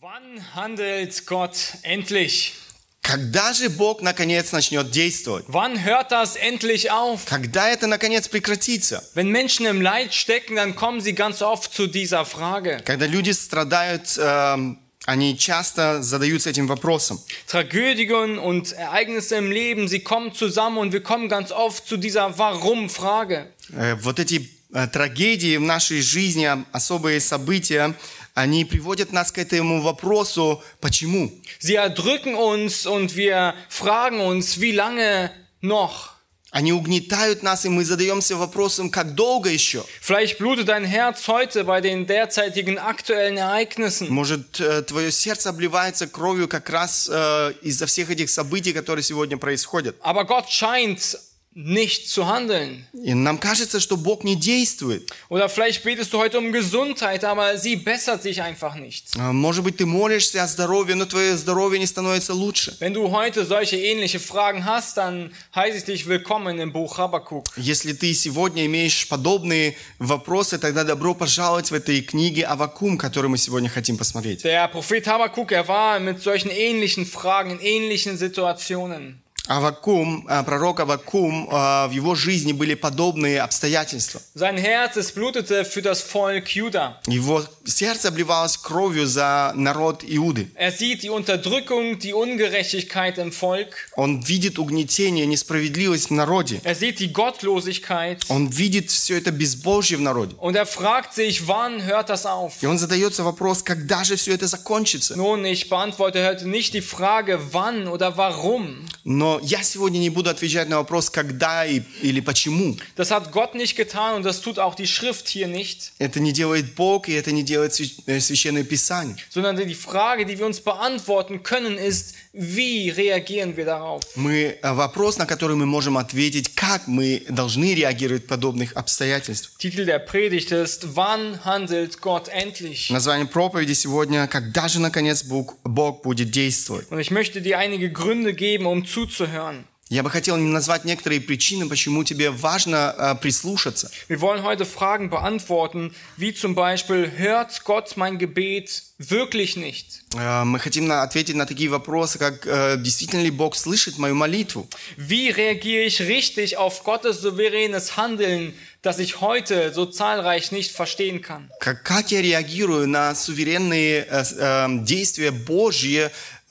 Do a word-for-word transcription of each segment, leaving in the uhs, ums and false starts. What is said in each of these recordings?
Wann handelt Gott endlich? Когда же Бог наконец начнет действовать? Wann hört das endlich auf? Когда это наконец прекратится? Wenn Menschen im Leid stecken, dann kommen sie ganz oft zu dieser Frage. Когда люди страдают, э, они часто задаются этим вопросом. Tragödien und Ereignisse im Leben, sie kommen zusammen und wir kommen ganz oft zu dieser Warum-Frage. Э, вот эти э, трагедии в нашей жизни, особые события, они приводят нас к этому вопросу, почему? Sie erdrücken uns und wir fragen uns, wie lange noch? Они угнетают нас, и мы задаемся вопросом, как долго еще? Vielleicht blutet dein Herz heute bei den derzeitigen aktuellen Ereignissen. Может, э, твое сердце обливается кровью как раз э, из-за всех этих событий, которые сегодня происходят. Aber Gott scheint nicht zu handeln. И нам кажется, что Бог не действует. Oder vielleicht betest du heute um Gesundheit, aber sie bessert sich einfach nicht. Э, Может быть, ты молишься о здоровье, но твое здоровье не становится лучше. Wenn du heute solche ähnliche Fragen hast, dann heiße ich dich willkommen im Buch Habakuk. Если ты сегодня имеешь подобные вопросы, тогда добро пожаловать в этой книге Аввакум, которую мы сегодня хотим посмотреть. Der Prophet Habakuk, er war mit solchen ähnlichen Fragen in ähnlichen Situationen. Аввакум, э, пророк Аввакум, э, в его жизни были подобные обстоятельства. Sein Herz, es blutete für das Volk Juda. Его сердце обливалось кровью за народ Иуды. Er sieht die Unterdrückung, die Ungerechtigkeit im Volk. Он видит угнетение, несправедливость в народе. Er sieht die Gottlosigkeit. Он видит все это безбожие в народе. Und er fragt sich, wann hört das auf? И он задается вопрос, когда же все это закончится? Nun, ich beantworte heute nicht die Frage, wann oder warum. Но я сегодня не буду отвечать на вопрос, когда и, или почему. Das hat Gott nicht getan und das tut auch die Schrift hier nicht. Это не делает Бог, и это не делает Священное Писание. Sondern die Frage, die wir uns beantworten können, ist, wie reagieren wir darauf? Мы, вопрос, на который мы можем ответить, как мы должны реагировать в подобных обстоятельствах. Titel der Predigt ist, wann handelt Gott endlich? Название проповеди сегодня, когда же наконец Бог, Бог будет действовать. Und ich möchte dir einige Gründe geben, um zuzuhören. Я бы хотел назвать некоторые причины, почему тебе важно äh, прислушаться. Wir wollen heute Fragen beantworten, wie zum Beispiel, hört Gott mein Gebet wirklich nicht? Äh, мы хотим на, ответить на такие вопросы, как äh, действительно ли Бог слышит мою молитву? Wie reagiere ich richtig auf Gottes souveränes Handeln, das ich heute so zahlreich nicht verstehen kann? Как, как я реагирую на суверенные äh, äh, действия Божьи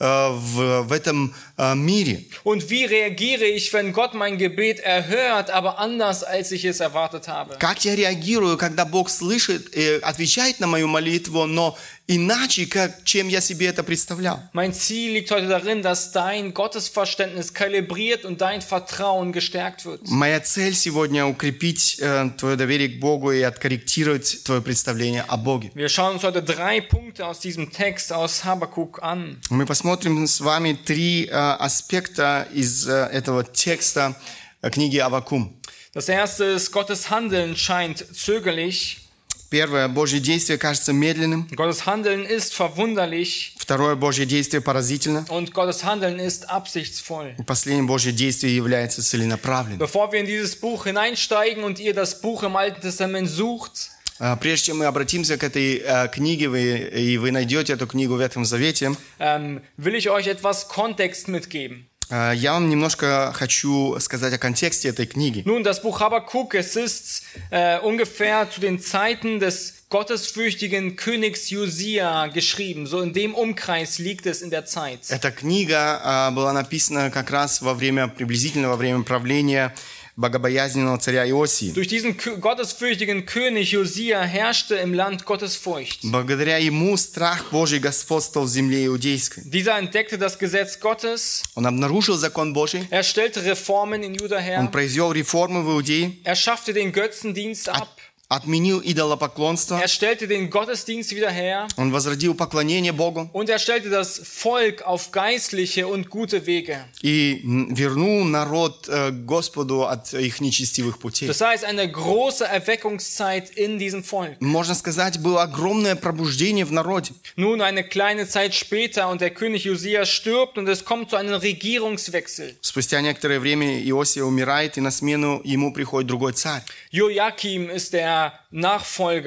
В, в этом äh, мире. Und wie reagiere ich, wenn Gott mein Gebet erhört, aber anders, als ich es erwartet habe? Как я реагирую, когда Бог слышит и отвечает на мою молитву, но иначе, как, чем я себе это представлял? Mein Ziel liegt heute darin, dass dein Gottesverständnis kalibriert und dein Vertrauen gestärkt wird. Моя цель сегодня укрепить äh, твое доверие к Богу и откорректировать твое представление о Боге. Wir schauen uns heute drei Punkte aus diesem Text aus Habakuk an. Мы посмотрим с вами три äh, аспекта из äh, этого текста äh, книги Аввакум. Das erste ist, Gottes Handeln scheint zögerlich. Первое, Божье действие кажется медленным. Gottes Handeln ist verwunderlich. Второе, Божье действие поразительно. Und Gottes Handeln ist absichtsvoll. И последнее, Божье действие является целенаправленным. Bevor wir in dieses Buch hineinsteigen und ihr das Buch im Alten Testament sucht, Прежде чем мы обратимся к этой äh, книге, вы, и вы найдете эту книгу в Ветхом Завете, ähm, will ich euch etwas Kontext mitgeben. äh, я вам немножко хочу сказать о контексте этой книги. Nun, das Buch Habakuk, es ist äh, ungefähr zu den Zeiten des gottesfürchtigen Königs Josia geschrieben. So in dem Umkreis liegt es in der Zeit. Эта книга äh, была написана как раз во время, приблизительно во время правления богобоязненного царя Иосии. Durch diesen gottesfürchtigen König Josia herrschte im Land Gottesfurcht. Благодаря ему страх Божий господствовал в земле иудейской. Dieser entdeckte das Gesetz Gottes. Он обнаружил закон Божий. Er stellte Reformen in Juda her. Он произвел реформы в Иудее. Er schaffte den Götzendienst ab. Отменил идолопоклонство. Er stellte den Gottesdienst wieder her. Он возродил поклонение Богу. Und er stellte das Volk auf geistliche und gute Wege. И вернул народ äh, Господу от их нечестивых путей. Das heißt, eine große Erweckungszeit in diesem Volk. Можно сказать, было огромное пробуждение в народе. Nun, eine kleine Zeit später und der König Josia stirbt und es kommt zu einem Regierungswechsel. Спустя некоторое время Иосия умирает, и на смену ему приходит другой царь. Joachim ist der Nachfolger.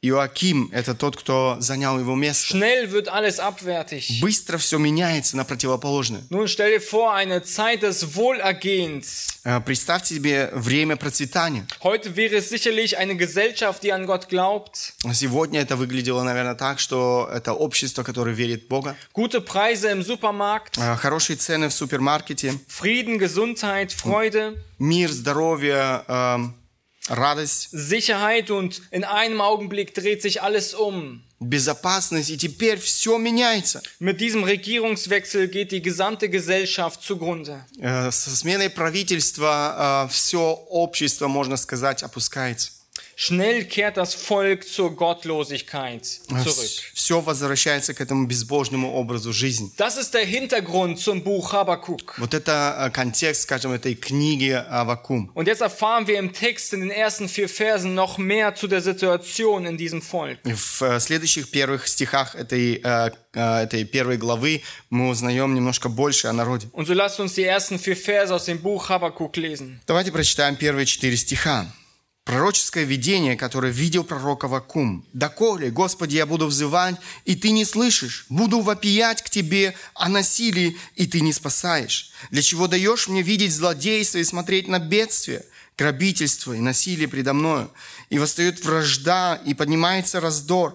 Иоаким – это тот, кто занял его место. Schnell wird alles abwärtig. Быстро все меняется на противоположное. Nun stell dir vor, eine Zeit des Wohlergehens. Э, Представьте себе время процветания. Heute wäre es sicherlich eine Gesellschaft, die an Gott glaubt. Сегодня это выглядело, наверное, так, что это общество, которое верит в Бога. Gute Preise im Supermarkt. Э, Хорошие цены в супермаркете. Frieden, Gesundheit, Freude. Мир, здоровье, эм, радость, Sicherheit und in einem Augenblick dreht sich alles um. безопасность. И теперь все меняется. Mit diesem Regierungswechsel geht die gesamte Gesellschaft zugrunde. Э, Со сменой правительства все общество, можно сказать, опускается. Schnell kehrt das Volk zur Gottlosigkeit zurück. Все возвращается к этому безбожному образу жизни. Das ist der Hintergrund zum Buch Habakuk. Вот это э, контекст, скажем, этой книги Аввакум. Und jetzt erfahren wir im Text in den ersten vier Versen noch mehr zu der Situation in diesem Volk. В э, следующих первых стихах этой, э, э, этой первой главы мы узнаем немножко больше о народе. Und so lasst uns die ersten vier Verse aus dem Buch Habakuk lesen. Давайте прочитаем первые четыре стиха. Пророческое видение, которое видел пророк Аввакум. «Доколе, Господи, я буду взывать, и Ты не слышишь, буду вопиять к Тебе о насилии, и Ты не спасаешь. Для чего даешь мне видеть злодейство и смотреть на бедствие, грабительство и насилие предо мною? И восстает вражда, и поднимается раздор.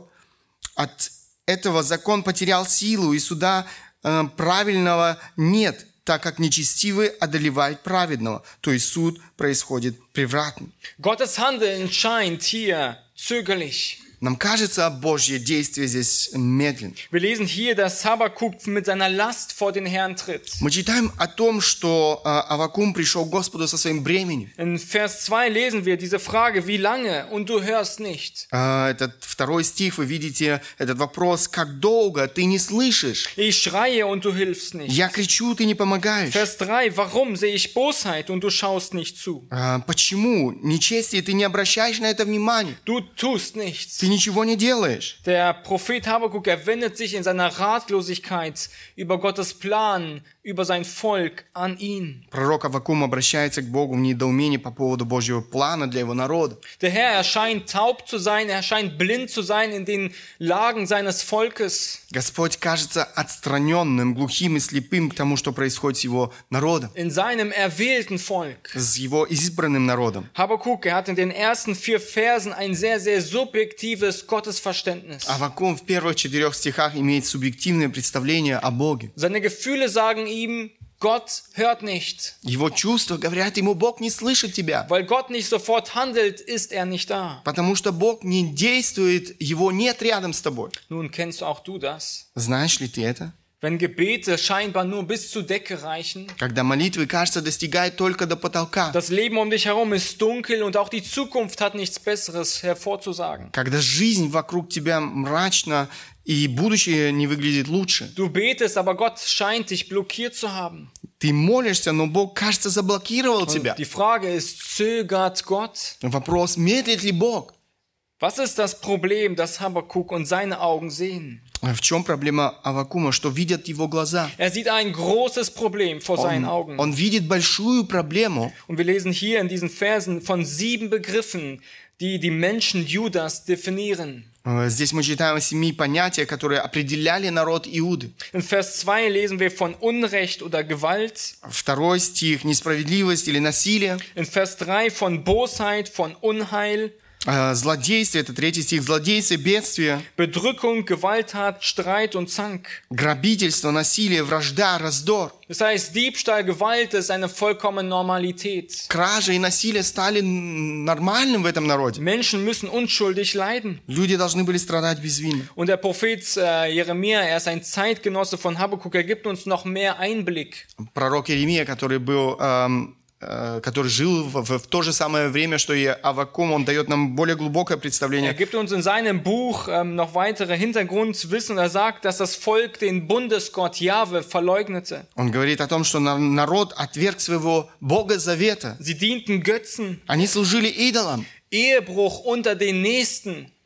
От этого закон потерял силу, и суда э, правильного нет, так как нечестивый одолевает праведного, то есть суд происходит превратно». Gottes Handeln scheint hier zögerlich. Нам кажется, Божье действие здесь медленно. Wir lesen hier, dass Habakuk mit seiner Last vor den Herrn tritt. Мы читаем о том, что э, Аввакум пришел к Господу со своим бременем. In Vers zwei lesen wir diese Frage, wie lange? Und du hörst nicht. Э, этот второй стих, вы видите этот вопрос, как долго ты не слышишь? Ich schreie und du hilfst nicht. Я кричу, ты не помогаешь. Vers drei, warum sehe ich Bosheit und du schaust nicht zu? Э, почему? Нечестие, ты не обращаешь на это внимания. Du tust nichts. Ты ничего не делаешь. Der Prophet Habakuk, er wendet sich in seiner Ratlosigkeit über Gottes Plan, über sein Volk an ihn. Пророк Аввакум обращается к Богу в недоумении по поводу Божьего плана для его народа. Der Herr, er scheint taub zu sein, er scheint blind zu sein in den Lagen seines Volkes. Господь кажется отстраненным, глухим и слепым к тому, что происходит с его народом, In seinem erwählten Volk. с его избранным народом. Habakuk, er hat in den ersten vier Versen ein sehr, sehr subjektives Gottesverständnis. Аввакум в первых четырех стихах имеет субъективное представление о Боге. Seine Gefühle sagen ihm, Gott hört nicht. Его чувства говорят ему, Бог не слышит тебя. Weil Gott nicht sofort handelt, ist er nicht da. Потому что Бог не действует, его нет рядом с тобой. Nun kennst auch du das. Знаешь ли ты это? Wenn Gebete scheinbar nur bis zur Decke reichen, Когда молитвы, кажется, достигают только до потолка. das Leben um dich herum ist dunkel und auch die Zukunft hat nichts Besseres hervorzusagen. Когда жизнь вокруг тебя мрачна, и будущее не выглядит лучше. Du betest, aber Gott scheint dich blockiert zu haben. Ты молишься, но Бог, кажется, заблокировал тебя. Die Frage ist, zögert Gott? Вопрос, медлит ли Бог? Was ist das Problem, das Habakuk und seine Augen sehen? В чем проблема Аввакума? Что видят его глаза? Er sieht ein großes Problem vor seinen Он, Augen. он видит большую проблему. Und wir lesen hier in diesen Versen von sieben Begriffen, die die Menschen Judas definieren. Здесь мы читаем о семи понятиях, которые определяли народ Иуды. In Vers zwei lesen wir von Unrecht oder Gewalt. Второй стих – несправедливость или насилие. In Vers drei von Bosheit, von Unheil. Злодействие – это третий стих. Злодействие, бедствие. Bedrückung, Gewalttat, Streit und Zank. Грабительство, насилие, вражда, раздор. Das heißt, Diebstahl, Gewalt ist eine vollkommene Normalität. Кража и насилие стали нормальным в этом народе. Menschen müssen unschuldig leiden. Люди должны были страдать безвинно. Und der Prophet äh, Jeremia, er ist ein Zeitgenosse von Habakuk, er gibt uns noch mehr Einblick. Пророк Иеремия, который был... Эм, который жил в, в, в то же самое время, что и Аввакум, он дает нам более глубокое представление. Er gibt uns in seinem Buch ähm, noch weitere Hintergrundwissen. Er sagt, dass das Volk den Bundesgott Jahwe verleugnete. Он говорит о том, что народ отверг своего Бога Завета. Sie dienten Götzen. Они служили идолам. Ehebruch unter den Nächsten.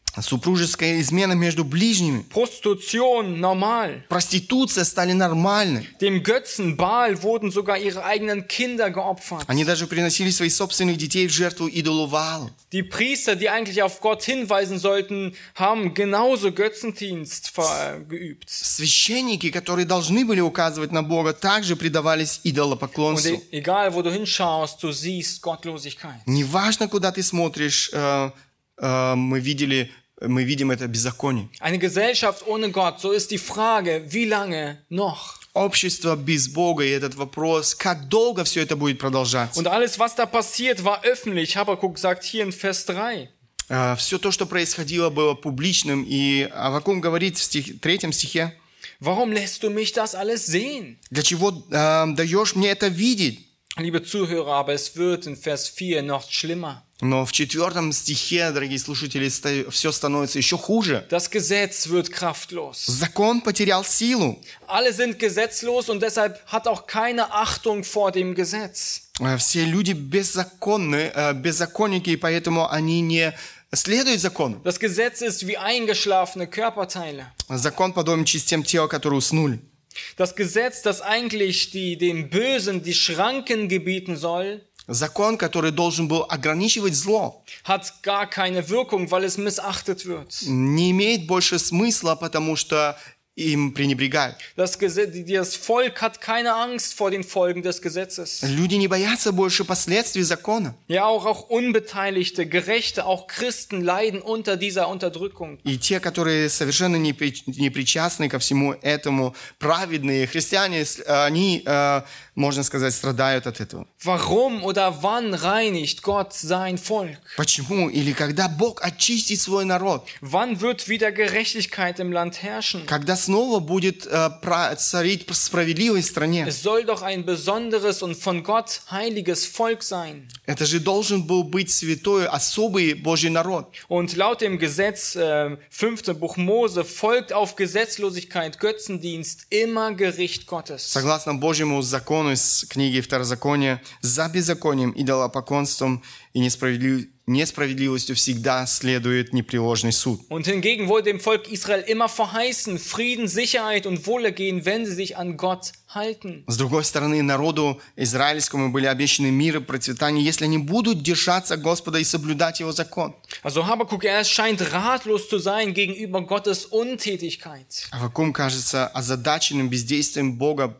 Супружеская измена между ближними, Prostitution normal. проституция стали нормальной. Dem Götzen Baal wurden sogar ihre eigenen Kinder geopfert. Они даже приносили своих собственных детей в жертву идолу Ваалу. Die Priester, die eigentlich auf Gott hinweisen sollten, haben genauso Götzendienst ver- geübt. Священники, которые должны были указывать на Бога, также предавались Und идолопоклонству. e- egal, wo du hinschaust, du siehst Gottlosigkeit. Неважно, куда ты смотришь, э, э, мы видели, мы видим это беззаконие. Eine Gesellschaft ohne Gott, so ist die Frage, wie lange noch? Общество без Бога, и этот вопрос, как долго все это будет продолжаться. Und alles, was da passiert, war öffentlich. Habakkuk sagt hier in Vers drei. Все то, что происходило, было публичным, и Аввакум говорит в стих, третьем стихе, Warum lässt du mich das alles sehen? для чего э, даешь мне это видеть? Liebe Zuhörer, aber es wird in Vers vier noch schlimmer. Но в четвертом стихе, дорогие слушатели, все становится еще хуже. Das Gesetz wird kraftlos. Закон потерял силу. Alle sind gesetzlos und deshalb hat auch keine Achtung vor dem Gesetz. Все люди беззаконны, э, беззаконники, и поэтому они не следуют закону. Das Gesetz ist wie eingeschlafene Körperteile. Закон подобен частям тела, которые уснули. Das Gesetz, das eigentlich die, dem Bösen die Schranken gebieten soll, Закон, который должен был ограничивать зло, hat gar keine Wirkung, weil es missachtet wird. не имеет больше смысла, потому что им пренебрегают. Das, Gesetz, das Volk hat keine Angst vor den Folgen des Gesetzes. Люди не боятся больше последствий закона. Ja, auch, auch Unbeteiligte, Gerechte, auch Christen leiden unter dieser Unterdrückung. И те, которые совершенно не, при, не причастны ко всему этому, праведные христиане, они, э, можно сказать, страдают от этого. Warum oder wann reinigt Gott sein Volk? Почему? Или когда Бог очистит свой народ? Wann wird wieder Gerechtigkeit im Land herrschen? Когда снова будет э, пра- царить справедливость в стране? Es soll doch ein besonderes und von Gott heiliges Volk sein. Это же должен был быть святой, особый Божий народ. Und laut dem Gesetz, äh, fünfte Buch Mose, folgt auf Gesetzlosigkeit, Götzendienst immer Gericht Gottes. Согласно Божьему закону из книги Второзакония, за беззаконием, идолопоклонством и несправедлив... несправедливостью всегда следует непреложный суд. Und hingegen wurde dem Volk Israel immer verheißen, Frieden, Sicherheit und Wohlergehen, wenn sie sich an Gott halten. С другой стороны, народу израильскому были обещаны мир и процветание, если они будут держаться Господа и соблюдать Его закон. Also Habakkuk, er scheint ratlos zu sein gegenüber Gottes Untätigkeit. Аввакум кажется озадаченным бездействием Бога.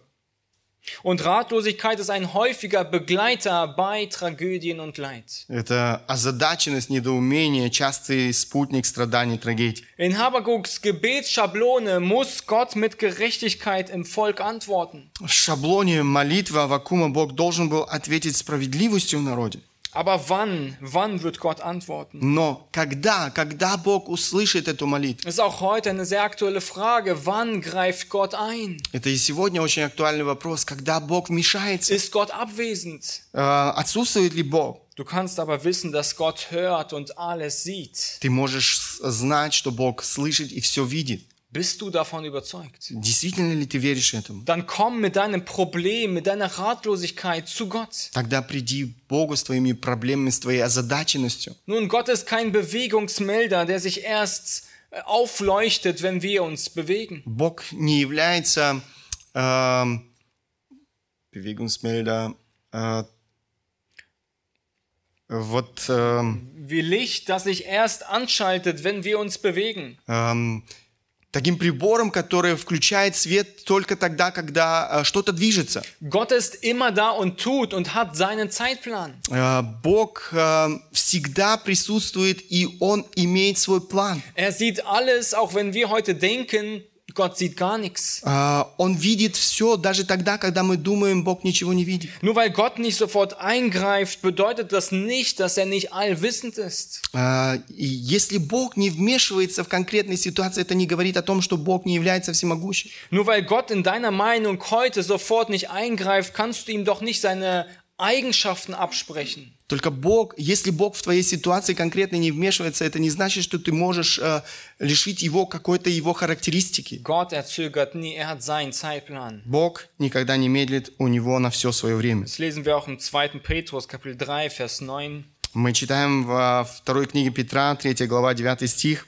Und Ratlosigkeit ist ein häufiger Begleiter bei Tragödien und Leid. Это озадаченность, недоумение, частый спутник страданий, трагедий. In Habakkuks Gebetsschablone muss Gott mit Gerechtigkeit im Volk antworten. В шаблоне молитвы Аввакума Бог должен был ответить справедливостью в народе. Aber wann, wann wird Gott antworten? Но когда, когда Бог услышит эту молитву? Das ist auch heute eine sehr aktuelle Frage. Wann greift Gott ein? Это и сегодня очень актуальный вопрос, когда Бог вмешается. Ist Gott abwesend? Äh, отсутствует ли Бог? Du kannst aber wissen, dass Gott hört und alles sieht. Ты можешь знать, что Бог слышит и все видит. Bist du davon überzeugt? Действительно ли ты веришь этому? Dann komm mit deinem Problem, mit deiner Ratlosigkeit zu Gott. Тогда приди к Богу с твоими проблемами, с твоей озадаченностью. Nun, Gott ist kein Bewegungsmelder, der sich erst aufleuchtet, wenn wir uns bewegen. Бог не является äh, Bewegungsmelder, äh, вот äh, Wie Licht, das sich erst anschaltet, wenn wir uns bewegen. äh, таким прибором, который включает свет только тогда, когда äh, что-то движется. Gott ist immer da und tut und hat seinen Zeitplan. Äh, Бог äh, всегда присутствует, и Он имеет свой план. Er sieht alles, auch wenn wir heute denken, Gott sieht gar nichts. Äh, Он видит все, даже тогда, когда мы думаем, Бог ничего не видит. Nur weil Gott nicht sofort eingreift, bedeutet das nicht, dass er nicht allwissend ist. Äh, и если Бог не вмешивается в конкретной ситуации, это не говорит о том, что Бог не является всемогущим. Nur weil Gott in deiner Meinung heute sofort nicht eingreift, kannst du ihm doch nicht seine Eigenschaften absprechen. Только Бог, если Бог в твоей ситуации конкретно не вмешивается, это не значит, что ты можешь äh, лишить Его какой-то Его характеристики. Gott, er zögert nie, er hat seinen Zeitplan. Бог никогда не медлит, у Него на все свое время. Das lesen wir auch im zweiten Petrus, Kapitel drei, Vers neun. Мы читаем во второй книге Петра, третья глава, девятый стих.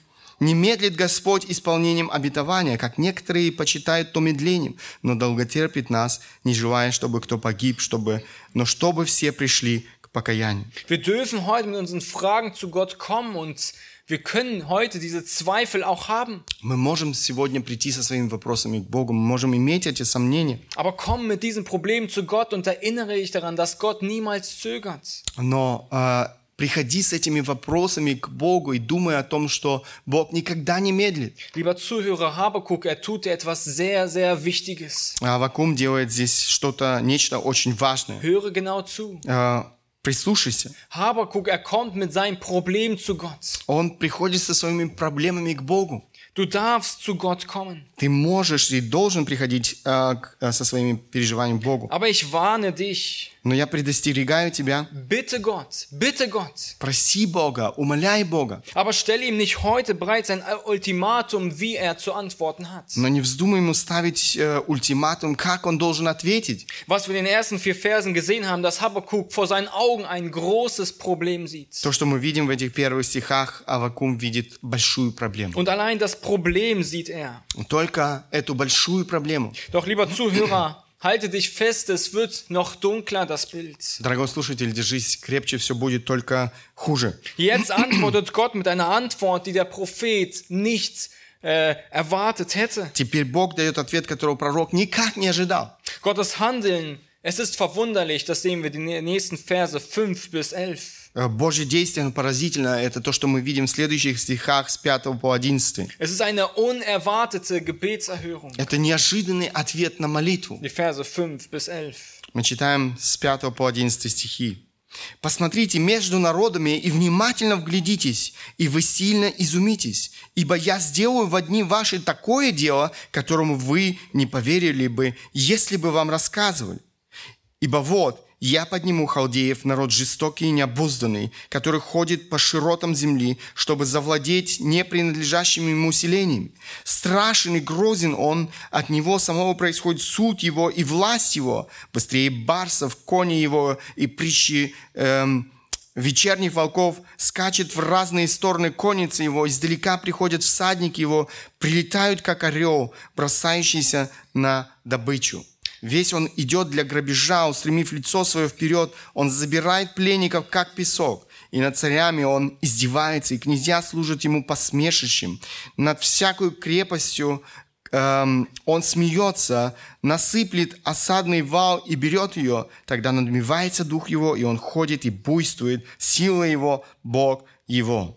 Не медлит Господь исполнением обетования, как некоторые почитают то медлением, но долготерпит нас, не желая, чтобы кто погиб, чтобы, но чтобы все пришли к покаянию. Wir dürfen heute mit unseren Fragen zu Gott kommen und wir können heute diese Zweifel auch haben. Мы можем сегодня прийти со своими вопросами к Богу, мы можем иметь эти сомнения, Aber komm mit diesen Problemen zu Gott und erinnere dich daran, dass Gott niemals zögert. но э, приходи с этими вопросами к Богу и думай о том, что Бог никогда не медлит. Lieber Zuhörer, Habakuk, er tut dir etwas sehr, sehr Wichtiges. А Аввакум делает здесь что-то, нечто очень важное. Höre genau zu. Э, Прислушайся. Habakuk, er kommt mit seinem Problem zu Gott. Он приходит со своими проблемами к Богу. Du darfst zu Gott kommen. Ты можешь и должен приходить э, к, э, со своими переживаниями к Богу. Aber ich warne dich. Но я предостерегаю тебя. Bitte Gott, bitte Gott. Проси Бога, умоляй Бога. Aber stelle ihm nicht heute bereits ein Ultimatum, wie er zu antworten hat. Но не вздумай ему ставить э, ультиматум, как он должен ответить. Was wir in den ersten vier Versen gesehen haben, dass Habakuk vor seinen Augen ein großes Problem sieht. То, что мы видим в этих первых стихах, Аввакум видит большую проблему. Und allein das Problem sieht er. Только эту большую проблему. Doch, lieber Zuhörer, halte dich fest, es wird noch dunkler, das Bild. Дорогой слушатель, держись крепче, все будет только хуже. Jetzt antwortet Gott mit einer Antwort, die der Prophet nicht äh, erwartet hätte. Теперь Бог дает ответ, которого пророк никак не ожидал. Gottes Handeln, es ist verwunderlich, das sehen wir in den nächsten Verse fünf bis elf. Божье действие, оно поразительно. Это то, что мы видим в следующих стихах с пятого по одиннадцатый. Es ist eine unerwartete Gebetserhörung. Это неожиданный ответ на молитву. Die Verse fünf bis elf. Мы читаем с пятого по одиннадцатый стихи. «Посмотрите между народами и внимательно вглядитесь, и вы сильно изумитесь, ибо я сделаю в дни ваши такое дело, которому вы не поверили бы, если бы вам рассказывали. Ибо вот, я подниму халдеев, народ жестокий и необузданный, который ходит по широтам земли, чтобы завладеть непринадлежащими ему селениями. Страшен и грозен он, от него самого происходит суд его и власть его. Быстрее барсов, кони его и притчи эм, вечерних волков, скачет в разные стороны конницы его, издалека приходят всадники его, прилетают, как орел, бросающийся на добычу. Весь он идет для грабежа, устремив лицо свое вперед, он забирает пленников, как песок. И над царями он издевается, и князья служат ему посмешищем. Над всякой крепостью эм, он смеется, насыплет осадный вал и берет ее. Тогда надмевается дух его, и он ходит и буйствует, сила его, Бог его».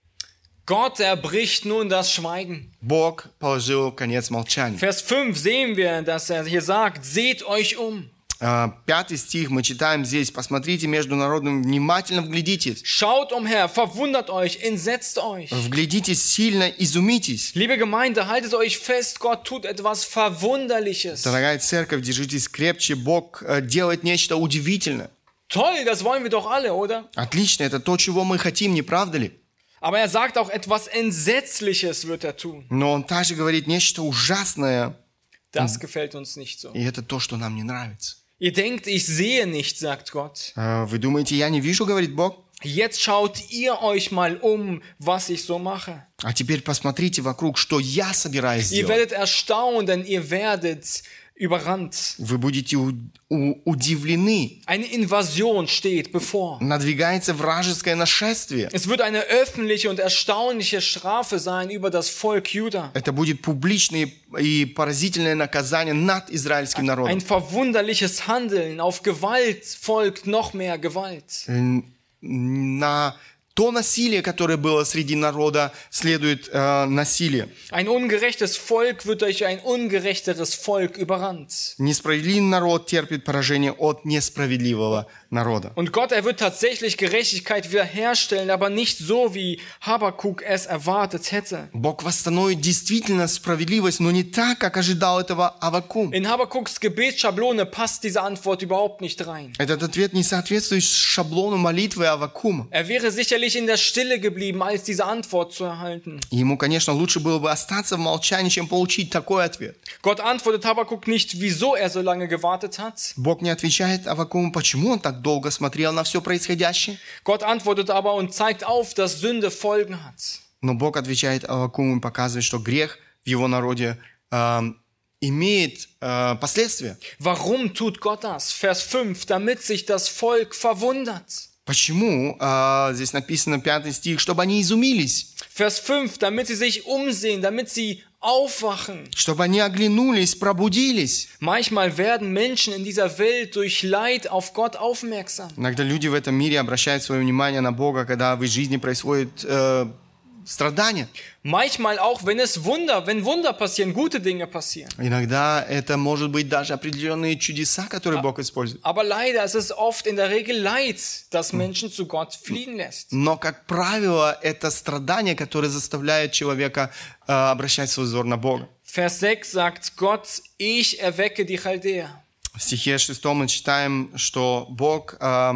Gott erbricht nun das Schweigen. Бог положил конец молчанию. Vers fünf sehen wir, dass er hier sagt, seht euch um. Пятый стих мы читаем здесь. «Посмотрите между народами, внимательно вглядитесь». Schaut umher, verwundert euch, entsetzt euch. Вглядитесь сильно, изумитесь. Liebe Gemeinde, haltet euch fest, Gott tut etwas Verwunderliches. Дорогая церковь, держитесь крепче. Бог делает нечто удивительное. Toll, das wollen wir doch alle, oder? Отлично, это то, чего мы хотим, не правда ли? Aber er sagt auch, etwas Entsetzliches wird er tun. Но он также говорит нечто ужасное. Das gefällt uns nicht so. И это то, что нам не нравится. Ihr denkt, ich sehe nicht, sagt Gott. Вы думаете, я не вижу, говорит Бог? Jetzt schaut ihr euch mal um, was ich so mache. А теперь посмотрите вокруг, что я собираюсь Ihr сделать. werdet erstaunt, denn ihr werdet überrannt. Вы будете у- у- удивлены. Eine Invasion steht bevor. Надвигается вражеское нашествие. Es wird eine öffentliche und erstaunliche Strafe sein über das Volk Juda. Это будет публичное и поразительное наказание над израильским Ein народом. verwunderliches Handeln. Auf Gewalt folgt noch mehr Gewalt. Э, На то насилие, которое было среди народа, следует э, насилие. Ein ungerechtes Volk wird durch ein ungerechteres Volk überrannt. Несправедливый народ терпит поражение от несправедливого народа. Und Gott, er wird tatsächlich Gerechtigkeit wiederherstellen, aber nicht so, wie Habakuk es erwartet hätte. Бог восстановит действительно справедливость, но не так, как ожидал этого Аввакум. In Habakuks Gebetsschablone passt diese Antwort überhaupt nicht rein. Этот ответ не соответствует шаблону молитвы Аввакума. Er wäre sicherlich in der Stille geblieben, als diese Antwort zu erhalten. Ему, конечно, лучше было бы остаться в молчании, чем получить такой ответ. Gott antwortet Habakuk nicht, wieso er so lange gewartet hat. Бог не отвечает Аввакуму, почему он так долго смотрел на все происходящее. Gott antwortet aber und zeigt auf, dass Sünde Folgen hat. Но Бог отвечает Аввакуму и показывает, что грех в его народе э, имеет äh, последствия. Warum tut Gott das? Vers fünf, damit sich das Volk verwundert. Почему? Äh, здесь написано пятый стих, чтобы они изумились. Vers fünf, damit sie sich umsehen, damit sie aufwachen. Чтобы они оглянулись, пробудились. Manchmal werden Menschen in dieser Welt durch Leid auf Gott aufmerksam. Иногда люди в этом мире обращают свое внимание на Бога, когда в их жизни происходит äh, страдания. Manchmal auch, wenn es Wunder, wenn Wunder passieren, gute Dinge passieren. Иногда это может быть даже определенные чудеса, которые Бог использует. Aber leider ist es oft in der Regel Leid, das Menschen zu Gott fliehen lässt. Но, как правило, это страдания, которые заставляют человека äh, обращать свой взор на Бога. Vers sechs sagt Gott, ich erwecke die Chaldäer. В стихе шестом мы читаем, что Бог äh,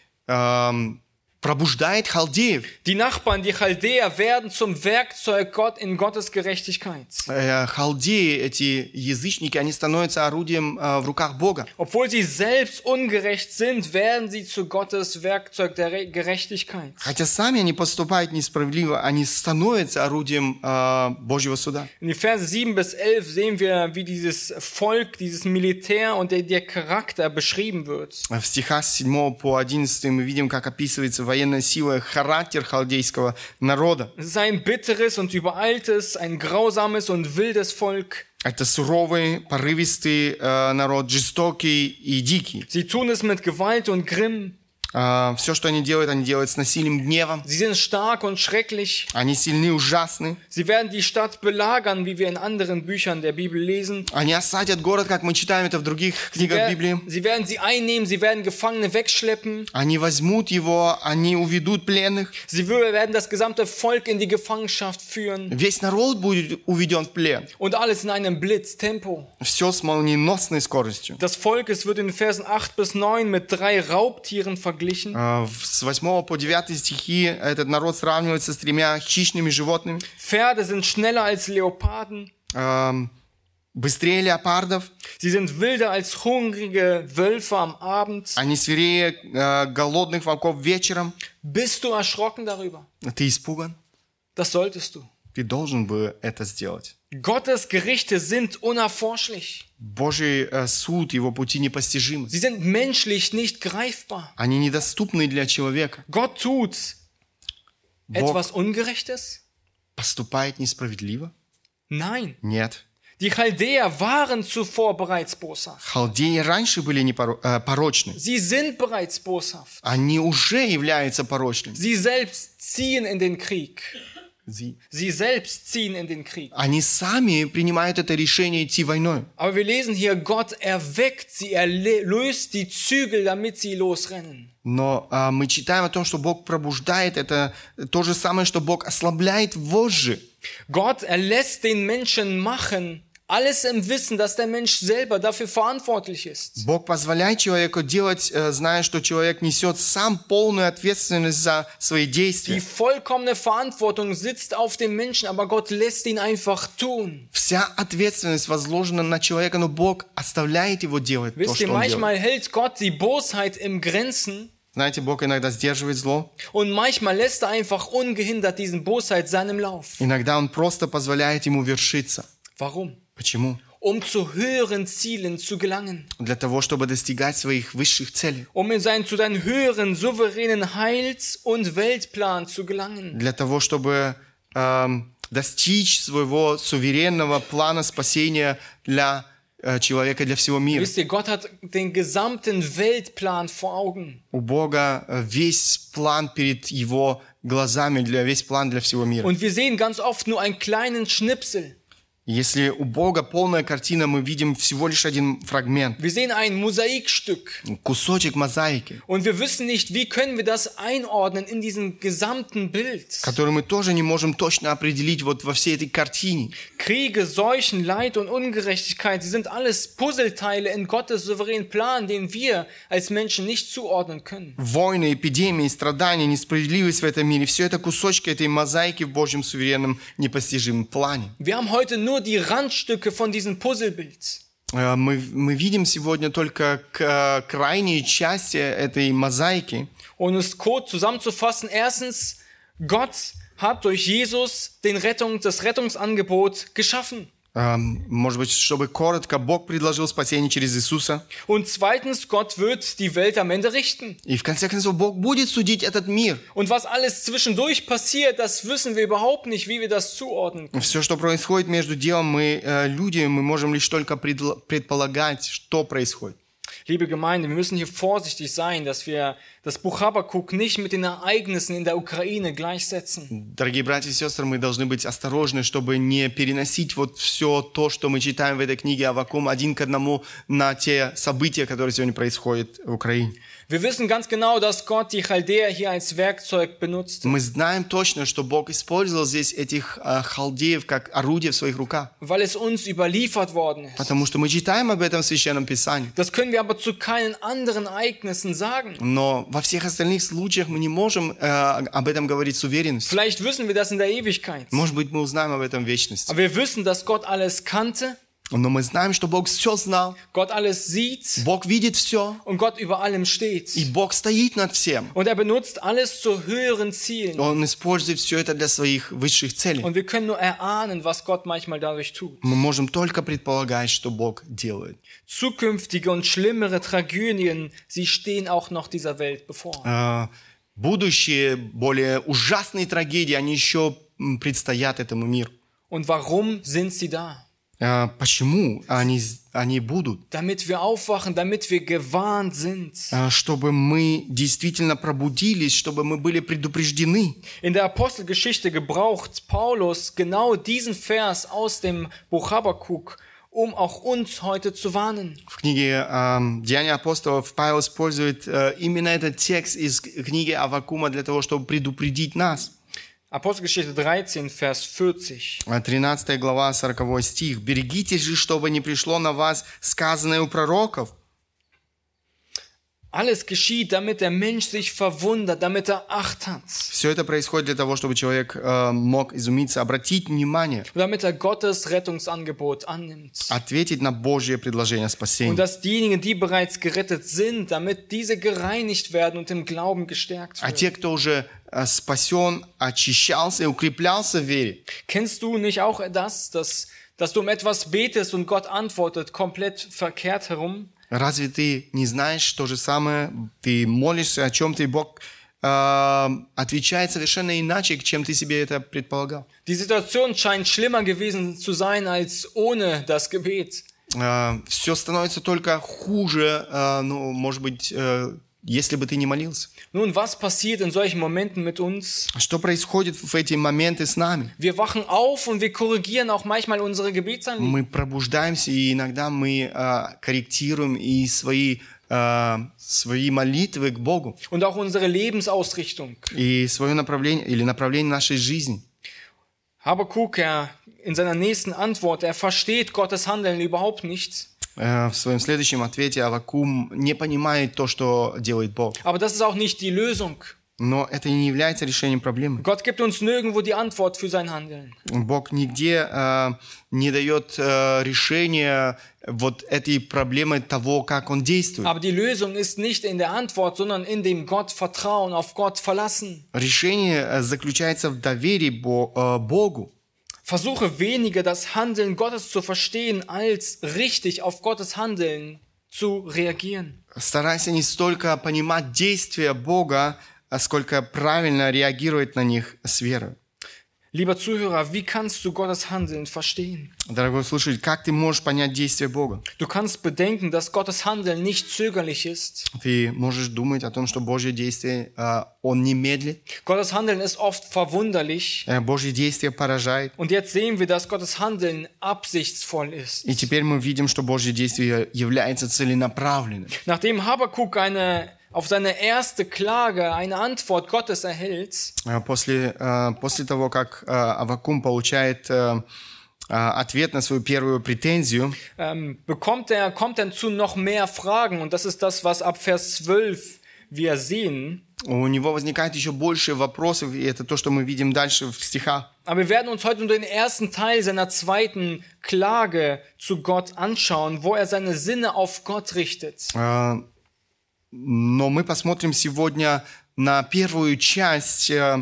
äh, пробуждает халдеев. Die Nachbarn, die Chaldäer, werden zum Werkzeug Gott in Gottes Gerechtigkeit. Äh, халдеи, эти язычники, они становятся орудием äh, в руках Бога. Obwohl sie selbst ungerecht sind, werden sie zu Gottes Werkzeug der Re- Gerechtigkeit. Хотя сами они поступают несправедливо, они становятся орудием äh, Божьего суда. In die Verse sieben bis elf sehen wir, wie dieses Volk, dieses Militär und der, der Charakter beschrieben wird. В стихах с седьмого по одиннадцатый мы видим, как описывается военная сила, характер халдейского народа. Es ist ein bitteres und übereiltes, ein grausames und wildes Volk. Это суровый, порывистый äh, народ, жестокий и дикий. Sie tun es mit Gewalt und Grimm. Äh, все, что они делают, они делают с насилием, гневом. Sie sind stark und schrecklich. Они сильны, ужасны. Sie werden die Stadt belagern, wie wir in anderen Büchern der Bibel lesen. Они осадят город, как мы читаем это в других Sie, книгах wer- Библии. sie werden sie einnehmen, sie werden Gefangene wegschleppen. Они возьмут его, они уведут пленных. Sie wür- werden das gesamte Volk in die Gefangenschaft führen. Весь народ будет уведен в плен. Und alles in einem Blitztempo. Все с молниеносной скоростью. Das Volk, es wird in Versen acht bis neun mit drei Raubtieren verglichen. Äh, в- С восьмого по девятый стихи этот народ сравнивается с тремя хищными животными. Pferde sind schneller als Leoparden. Эм, Быстрее леопардов. Sie sind wilder als hungrige Wölfe am Abend. Они свирее э, голодных волков вечером. Bist du erschrocken darüber? Ты испуган? Das solltest du. Ты должен бы это сделать. Gottes Gerichte sind unerforschlich. Божий э, суд, его пути непостижимы. Sie sind menschlich nicht greifbar. Они недоступны для человека. Gott tut Бог etwas Ungerechtes? поступает несправедливо? Nein. Нет. Die Chaldäer waren zuvor bereits boshaft. Халдеи раньше были непоро- э, порочны. Sie sind bereits boshaft. Они уже являются порочными. Sie selbst ziehen in den Krieg. Зи- Sie selbst ziehen in den Krieg. Они сами принимают это решение идти войной. Aber wir lesen hier, Gott erweckt sie, er le- löst die Zügel, damit sie losrennen. Но а, мы читаем о том, что Бог пробуждает. Это то же самое, что Бог ослабляет вожжи. Gott erlässt den Menschen machen, alles im Wissen, dass der Mensch selber dafür verantwortlich ist. Бог позволяет человеку делать, э, зная, что человек несет сам полную ответственность за свои Die действия. vollkommene Verantwortung sitzt auf dem Menschen, aber Gott lässt ihn einfach tun. Вся ответственность возложена на человека, но Бог оставляет его делать то, Wisst ihr, что он делает. manchmal hält Gott die Bosheit im Grenzen Знаете, Бог иногда сдерживает зло. und manchmal lässt er einfach ungehindert diesen Bosheit seinem Lauf. Иногда Он просто позволяет ему вершиться. Warum? Почему? Um zu höheren Zielen zu gelangen. Для того, чтобы достигать своих высших целей. Um in sein, zu seinen höheren, souveränen Heils- und Weltplan zu gelangen. Для того, чтобы эм, достичь своего суверенного плана спасения для э, человека, для всего мира. Wisst ihr, Gott hat den gesamten Weltplan vor Augen. У Бога э, весь план перед Его глазами, для, весь план для всего мира. Und wir sehen ganz oft nur einen kleinen Schnipsel. Если у Бога полная картина, мы видим всего лишь один фрагмент, Wir sehen ein Mosaikstück. кусочек мозаики, Und wir wissen nicht, wie können wir das einordnen in diesem gesamten Bild. который мы тоже не можем точно определить вот во всей этой картине. Kriege, Seuchen, Leid und Ungerechtigkeit, sie sind alles Puzzleteile in Gottes souveränen Plan, den wir als Menschen nicht zuordnen können. Войны, эпидемии, страдания, несправедливость в этом мире, все это кусочки этой мозаики в Божьем суверенном непостижимом плане. Wir haben heute nur die Randstücke von diesem Puzzlebild. Э, Мы, мы видим сегодня только к- крайние части этой мозаики. Um es kurz zusammenzufassen, erstens, Gott hat durch Jesus den Rettung, das Rettungsangebot geschaffen. Эм, Может быть, чтобы коротко, Бог предложил спасение через Иисуса. Und zweitens, Gott wird die Welt am Ende richten. И в конце концов, Бог будет судить этот мир. Und was alles zwischendurch passiert, das wissen wir überhaupt nicht, wie wir das zuordnen können. Все, что происходит между делом, мы, э, люди, мы можем лишь только предл- предполагать, что происходит. Liebe Gemeinde, wir müssen hier vorsichtig sein, dass wir das Buch Habakuk nicht mit den Ereignissen in der Ukraine gleichsetzen. Дорогие братья и сестры, мы должны быть осторожны, чтобы не переносить вот все то, что мы читаем в этой книге Аввакум, один к одному на те события, которые сегодня происходят в Украине. Wir wissen ganz genau, dass Gott die Chaldäer hier als Werkzeug benutzt, Мы знаем точно, что Бог использовал здесь этих э, халдеев как орудие в своих руках, weil es uns überliefert worden ist. потому что мы читаем об этом в Священном Писании. Das können wir aber zu keinen anderen Ereignissen sagen. Но во всех остальных случаях мы не можем э, об этом говорить с уверенностью. Vielleicht wissen wir das in der Ewigkeit. Может быть, мы узнаем об этом в вечности. Aber wir wissen, dass Gott alles kannte, Но мы знаем, что Бог все знал. Gott alles sieht Бог видит все. und Gott über allem steht. И Бог стоит над всем. Und er benutzt alles zu höheren Zielen. Он использует все это для своих высших целей. Und wir können nur erahnen, was Gott manchmal dadurch tut. Мы можем только предполагать, что Бог делает. Zukünftige und schlimmere Tragödien, sie stehen auch noch dieser Welt bevor. Э, Будущие, более ужасные трагедии, они еще м, предстоят этому миру. Und warum sind sie da? Э, Почему они, они будут? Damit wir aufwachen, damit wir gewarnt sind. Э, Чтобы мы действительно пробудились, чтобы мы были предупреждены. In der Apostelgeschichte gebraucht Paulus genau diesen Vers aus dem Buch Habakuk, um auch uns heute zu warnen. В книге э, «Деяния апостолов» Павел использует э, именно этот текст из книги Аввакума для того, чтобы предупредить нас. Apostelgeschichte dreizehn, Vers vierzig. тринадцатая глава, сороковой стих. «Берегитесь же, чтобы не пришло на вас сказанное у пророков». Alles geschieht, damit der Mensch sich verwundert, damit er Acht hat. Все это происходит для того, чтобы человек э, мог изумиться, обратить внимание, Und damit er Gottes Rettungsangebot annimmt. ответить на Божье предложение Und спасения. dass diejenigen, die bereits gerettet sind, damit diese gereinigt werden und im Glauben gestärkt А те, werden. кто уже э, спасен, очищался и укреплялся в вере. Kennst du nicht auch das, dass, dass du um etwas betest und Gott antwortet, komplett verkehrt herum? Разве ты не знаешь то же самое? Ты молишься о чем-то, и Бог э, отвечает совершенно иначе, чем ты себе это предполагал. Die Situation scheint schlimmer gewesen zu sein als ohne das Gebet. Э, все становится только хуже, э, ну, может быть, э, если бы ты не молился. Nun, was passiert in solchen Momenten mit uns? Что происходит в эти моменты с нами? Wir wachen auf und wir korrigieren auch manchmal unsere Gebetsanliegen. Мы пробуждаемся, и иногда мы э, корректируем и свои, э, свои молитвы к Богу, Und auch unsere Lebensausrichtung. и свое направление или направление нашей жизни. Habakuk, er in seiner nächsten Antwort, er versteht Gottes Handeln überhaupt nicht. Э, В своем следующем ответе Аввакум не понимает то, что делает Бог. Aber das ist auch nicht die Lösung. Но это не является решением проблемы. Gott gibt uns nirgendwo die Antwort für sein Handeln. Бог нигде э, не дает э, решения вот этой проблемы того, как Он действует. Aber die Lösung ist nicht in der Antwort, sondern in dem Gott vertrauen, auf Gott verlassen. Решение э, заключается в доверии Бо- э, Богу. Versuche weniger das Handeln Gottes zu verstehen, als richtig auf Gottes Handeln zu reagieren. Старайся не столько понимать действия Бога, а сколько правильно реагировать на них с верой. Lieber Zuhörer, wie kannst du Gottes Handeln verstehen? Дорогой слушатель, как ты можешь понять действия Бога? Du kannst bedenken, dass Gottes Handeln nicht zögerlich ist. Ты можешь думать о том, что Божье действие, э, Он не медлит, Gottes Handeln ist oft verwunderlich. э, Божье действие поражает. Und jetzt sehen wir, dass Gottes Handeln absichtsvoll ist. И теперь мы видим, что Божье действие является целенаправленным. Nachdem Habakuk eine, auf seine erste Klage eine Antwort Gottes erhält, Э, После, э, после того, как э, Аввакум получает э, э, ответ на свою первую претензию, ähm, bekommt er, kommt er zu noch mehr Fragen. Und das ist das, was ab Vers zwölf wir sehen. у него возникает еще больше вопросов, и это то, что мы видим дальше в стихах. Aber wir werden uns heute nur den ersten Teil seiner zweiten Klage zu Gott anschauen, wo er seine Sinne auf Gott richtet. Э, Но мы посмотрим сегодня на первую часть э,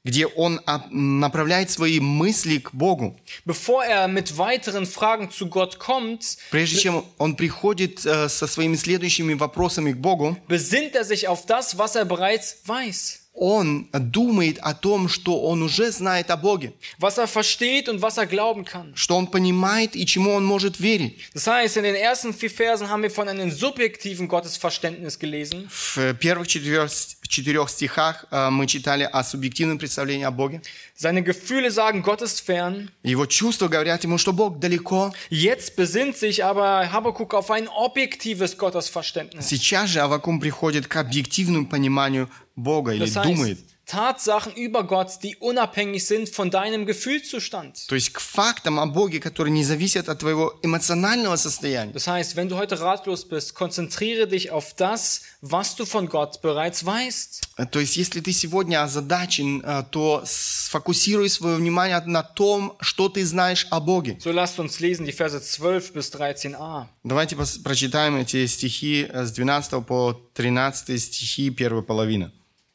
где он а, направляет свои мысли к Богу. Bevor er mit weiteren Fragen zu Gott kommt, Прежде чем он приходит э, со своими следующими вопросами к Богу, besinnt er sich auf das, was er bereits weiß. он думает о том, что он уже знает о Боге, Was er versteht und was er glauben kann. что он понимает и чему он может верить. Das heißt, in den ersten vier Versen haben wir von einem subjektiven Gottesverständnis gelesen. В первых четырех, четырех стихах э, мы читали о субъективном представлении о Боге. Seine Gefühle sagen, Gott ist fern. Его чувства говорят ему, что Бог далеко. Jetzt besinnt sich aber Habakuk auf ein objektives Gottesverständnis. Сейчас же Аввакум приходит к объективному пониманию Бога или Das думает. heißt, Tatsachen über Gott, die unabhängig sind von deinem Gefühlszustand. То есть к фактам о Боге, которые не зависят от твоего эмоционального состояния. Das heißt, wenn du heute ratlos bist, konzentriere dich auf das, was du von Gott bereits weißt. То есть если ты сегодня озадачен, э, то сфокусируй свое внимание на том, что ты знаешь о Боге. So lasst uns lesen die Verse zwölf bis dreizehn a. Давайте пос- прочитаем эти стихи э, с двенадцатого по тринадцатый стихи, первая половина.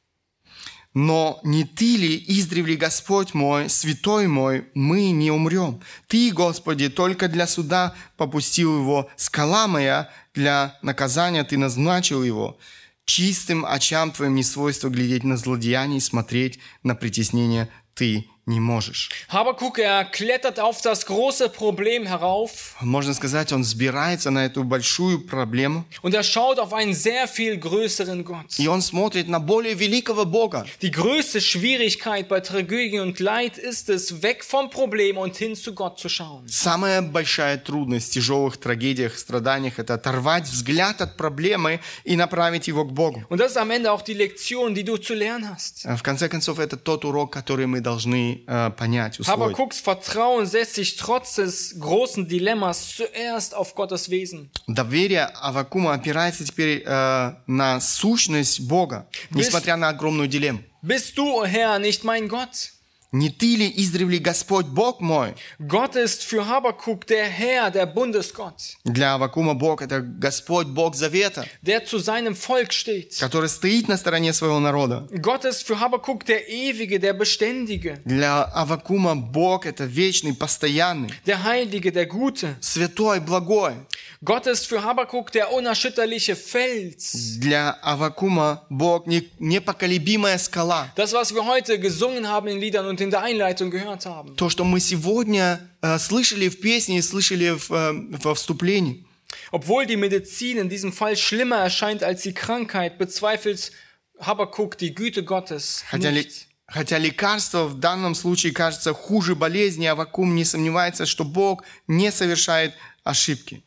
«Но не ты ли, издревле Господь мой, святой мой, мы не умрем? Ты, Господи, только для суда попустил его, скала моя, для наказания ты назначил его. Чистым очам твоим не свойство глядеть на злодеяние и смотреть на притеснение ты не можешь». Habakuk, er klettert auf das große Problem herauf Можно сказать, он взбирается на эту большую проблему, und er schaut auf einen sehr viel größeren Gott. и он смотрит на более великого Бога. Die größte Schwierigkeit bei Tragödie und Leid ist es, weg vom Problem und hin zu Gott zu schauen. Самая большая трудность в тяжелых трагедиях, страданиях – это оторвать взгляд от проблемы и направить его к Богу. Und das ist am Ende auch die Lektion, die du zu lernen hast. В конце концов, это тот урок, который мы должны äh, понять, усвоить. Habakuks Vertrauen setzt sich trotz des großen Dilemmas zuerst auf Gottes Wesen. Доверие Аввакума опирается теперь äh, на сущность Бога, несмотря на огромную дилемму. Bist du, o Herr, nicht mein Gott? «Не ты ли издревле Господь Бог мой?» Gott ist für Habakuk der Herr, der Bundesgott, Для Аввакума Бог – это Господь, Бог Завета, der zu seinem Volk steht. который стоит на стороне своего народа. Gott ist für Habakuk der Ewige, der Beständige, Для Аввакума Бог – это вечный, постоянный, der Heilige, der Gute. святой, благой. Gott ist für Habakuk der unerschütterliche Fels. Для Аввакума Бог не- непоколебимая скала. Das, was wir heute gesungen haben in Liedern und in der Einleitung gehört haben. То, что мы сегодня э, слышали в песне и слышали в, э, во вступлении. Obwohl die Medizin in diesem Fall schlimmer erscheint als die Krankheit, bezweifelt Habakuk die Güte Gottes Хотя, ли- nicht. хотя лекарство в данном случае кажется хуже болезни, Аввакум не сомневается, что Бог не совершает ошибки.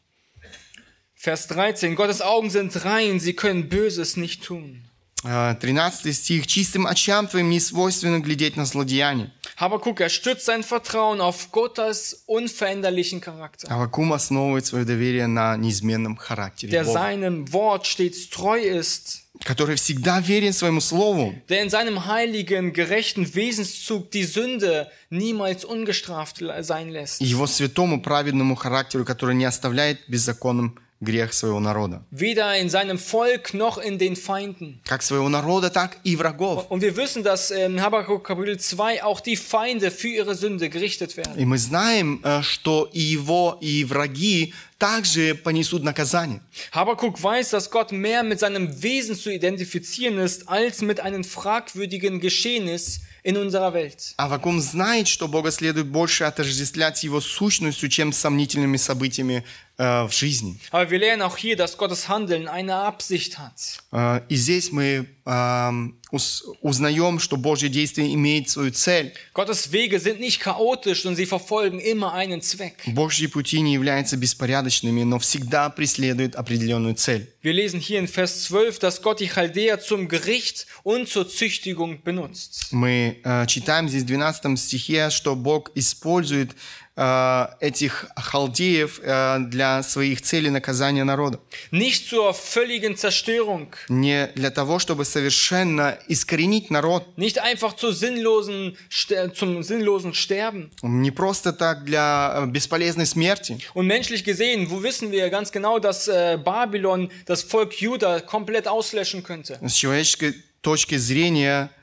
Vers dreizehn. Gottes Augen sind rein, sie können Böses nicht tun. Э, тринадцатый стих. «Чистым очам твоим не свойственно глядеть на злодеяние». Habakuk, er stützt sein Vertrauen auf Gottes unveränderlichen Charakter, Аввакум основывает свое доверие на неизменном характере der Бога, seinem Wort stets treu ist, который всегда верен своему слову, der in seinem heiligen, gerechten Wesenszug die Sünde niemals ungestraft sein lässt. и его святому праведному характеру, который не оставляет беззаконным грех своего народа. Weder in seinem Volk noch in den Feinden. Как своего народа, так и врагов. Und wir wissen, dass in Habakuk Kapitel zwei auch die Feinde für ihre Sünde gerichtet werden. И мы знаем, э, что и его, и враги также понесут наказание. Habakuk weiß, dass Gott mehr mit seinem Wesen zu identifizieren ist, als mit einem fragwürdigen Geschehnis in unserer Welt. Аввакум знает, что Бога следует больше отождествлять с его сущностью, чем с сомнительными событиями э, в жизни. Aber wir lernen auch hier, dass Gottes Handeln eine Absicht hat. Э, и здесь мы э, ус- узнаем, что Божье действие имеет свою цель. Gottes Wege sind nicht chaotisch und sie verfolgen immer einen Zweck. Божьи пути не являются беспорядочными, но всегда преследуют определенную цель. Wir lesen hier in Vers zwölf, dass Gott die Chaldäer zum Gericht und zur Züchtigung benutzt. Мы э, читаем здесь в двенадцатом стихе, что Бог использует э, этих халдеев э, для своих целей наказания народа. Nicht zur völligen Zerstörung, Не для того, чтобы совершенно искоренить народ, nicht einfach zur sinnlosen, Ster- zum sinnlosen Sterben. не просто так для э, бесполезной смерти. Und menschlich gesehen, wo wissen wir ganz genau, dass äh, Babylon das Volk Juda komplett auslöschen könnte. С человеческой точки зрения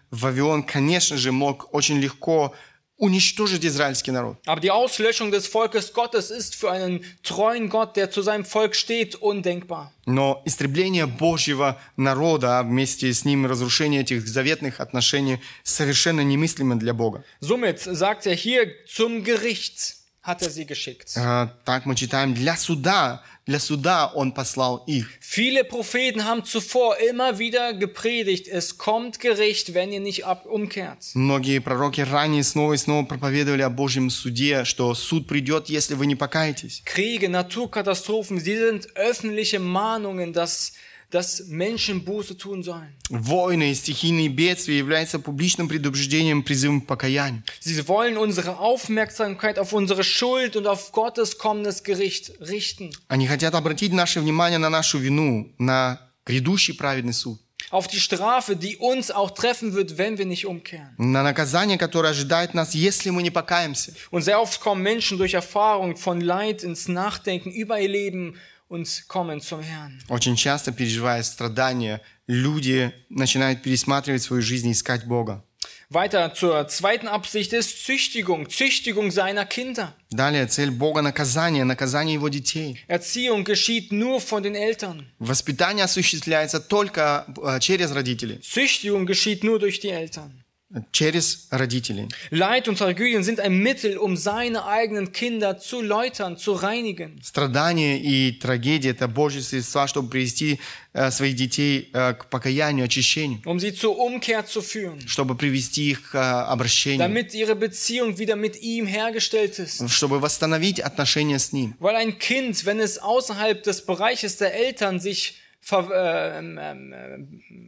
Вавилон, конечно же, мог очень легко уничтожить израильский народ. Aber die Auslöschung des Volkes Gottes ist für einen treuen Gott, der zu seinem Volk steht, undenkbar. Но истребление Божьего народа, а вместе с ним разрушение этих заветных отношений совершенно немыслимо для Бога. Somit sagt er hier, zum Gericht hat er sie geschickt. А, Так мы читаем, для суда, для суда Он послал их. Viele Propheten haben zuvor immer wieder gepredigt, es kommt Gericht, wenn ihr nicht ab umkehrt. Многие пророки ранее снова и снова проповедовали о Божьем суде, что суд придет, если вы не покаетесь. Kriege, Naturkatastrophen, sie sind öffentliche Mahnungen, dass, dass Menschen Buße tun sollen. Войны и стихийные бедствия являются публичным предупреждением, призывом к покаянию. Sie wollen unsere Aufmerksamkeit auf unsere Schuld und auf Gottes kommendes Gericht richten. Они хотят обратить наше внимание на нашу вину, на грядущий праведный суд, Auf die Strafe, die uns auch treffen wird, wenn wir nicht umkehren. на наказание, которое ожидает нас, если мы не покаемся. Und sehr oft kommen Menschen durch Erfahrung von Leid ins Nachdenken über ihr Leben und kommen zum Herrn. Очень часто, переживая страдания, люди начинают пересматривать свою жизнь и искать Бога. Weiter zur zweiten Absicht ist Züchtigung, Züchtigung seiner Kinder. Далее, цель Бога – наказание, наказание Его детей. Erziehung geschieht nur von den Eltern. Воспитание осуществляется только э, через родителей. Züchtigung geschieht nur durch die Eltern. Через родителей. Leid und Tragödien sind ein Mittel, um seine eigenen Kinder zu läutern, zu reinigen. Страдания и трагедии – это Божьи средства, чтобы привести э, своих детей э, к покаянию, очищению, Um sie zur Umkehr zu führen, чтобы привести их к э, обращению, damit ihre Beziehung wieder mit ihm hergestellt ist. чтобы восстановить отношения с Ним. Weil ein Kind, wenn es außerhalb des Bereiches der Eltern sich ver, äh, äh,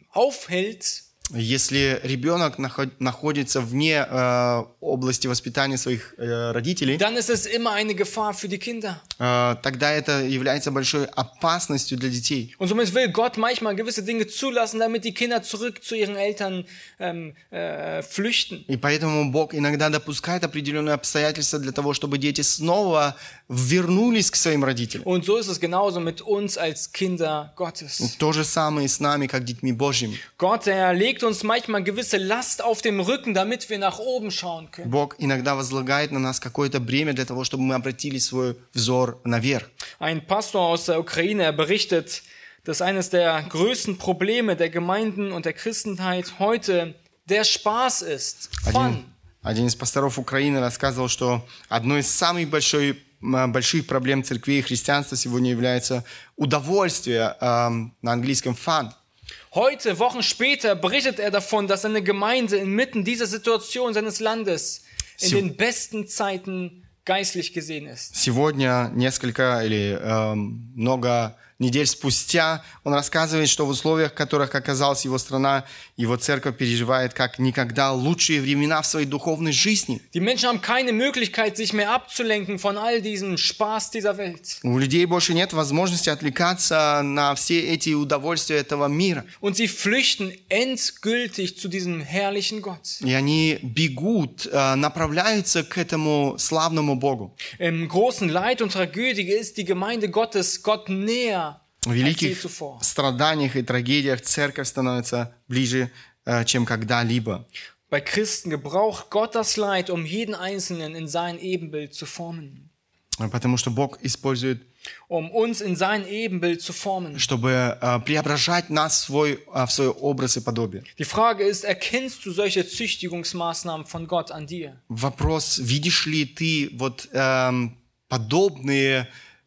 aufhält, Если ребенок наход- находится вне э, области воспитания своих э, родителей, dann ist es immer eine Gefahr für die Kinder. э, тогда это является большой опасностью для детей. Und somit will Gott manchmal gewisse Dinge zulassen, damit die Kinder zurück zu ihren Eltern ähm, äh, flüchten. И поэтому Бог иногда допускает определенные обстоятельства для того, чтобы дети снова вернулись к своим родителям. Und so ist es genauso mit uns als Kinder Gottes. То же самое и с нами, как детьми Божьими. Gott, er legt uns manchmal gewisse Last auf dem Rücken, damit wir nach oben schauen können. Бог иногда возлагает на нас какое-то бремя для того, чтобы мы обратили свой взор наверх. Ein Pastor aus der Ukraine, er berichtet, dass eines der größten Probleme der Gemeinden und der Christenheit heute der Spaß ist. Fun. Один, один из пасторов Украины рассказывал, что одной из самых большой, м, больших проблем церкви и христианства сегодня является удовольствие, эм, на английском fun. Heute, Wochen später, berichtet er davon, dass seine Gemeinde inmitten dieser Situation seines Landes in Sie- den besten Zeiten geistlich gesehen ist. Сегодня, несколько или эм, много недель спустя, он рассказывает, что в условиях, в которых оказалась его страна, его церковь переживает как никогда лучшие времена в своей духовной жизни. Die Menschen haben keine Möglichkeit, sich mehr abzulenken von all diesem Spaß dieser Welt. У людей больше нет возможности отвлекаться на все эти удовольствия этого мира. Und sie flüchten endgültig zu diesem herrlichen Gott. И они бегут, э, направляются к этому славному Богу. Im großen Leid und Tragödie ist die Gemeinde Gottes Gott näher В als je великих zuvor. страданиях и трагедиях церковь становится ближе, э, чем когда-либо. Bei Christen gebraucht Gott das Leid, um jeden Einzelnen in sein Ebenbild zu formen. Потому что Бог использует, Um uns in sein Ebenbild zu formen. чтобы э, преображать нас в свой, э, в свой образ и подобие. Die Frage ist, erkennst du solche Züchtigungsmaßnahmen von Gott an dir? Вопрос, видишь ли ты вот эм, подобные,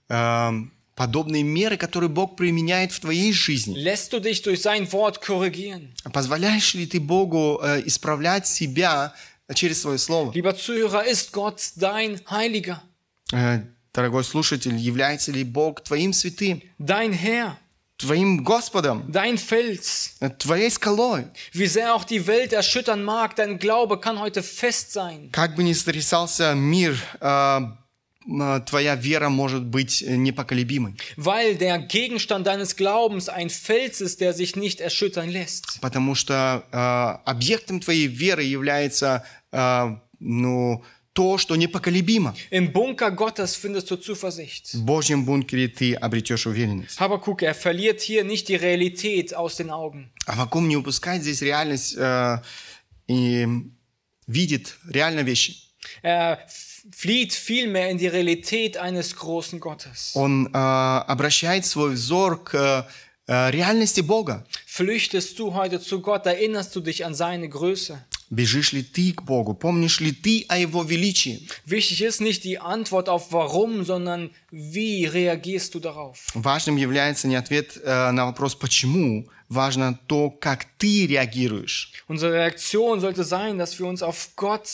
эм, подобные меры, которые Бог применяет в твоей жизни? Lässt du dich durch sein Wort korrigieren? Позволяешь ли ты Богу э, исправлять себя через свое слово? Lieber Zuhörer, ist Gott dein Heiliger, Э, Дорогой слушатель, является ли Бог твоим святым, dein Herr, твоим Господом, dein Fels? э, твоей скалой? Wie sehr auch die Welt erschüttern mag, dein Glaube kann heute fest sein. Как бы ни сотрясался мир, э, э, твоя вера может быть непоколебимой. Weil der Gegenstand deines Glaubens ein Fels ist, der sich nicht erschüttern lässt. Потому что э, объектом твоей веры является э, ну, то, что непоколебимо. Im Bunker Gottes findest du Zuversicht. В Божьем бункере ты обретешь уверенность. Habakuk, er verliert hier nicht die Realität aus den Augen. Аввакум не упускает здесь реальность э, и видит реально вещи. Er flieht vielmehr in die Realität eines großen Gottes. Он э, обращает свой взор к э, реальности Бога. Flüchtest du heute zu Gott, erinnerst du dich an seine Größe? Бежишь ли ты к Богу? Помнишь ли ты о Его величии? Wichtig ist nicht die Antwort auf warum, sondern wie reagierst du darauf? Важным является не ответ э, на вопрос «почему?», важно то, как ты реагируешь. Unsere Reaktion sollte sein, dass wir uns auf Gott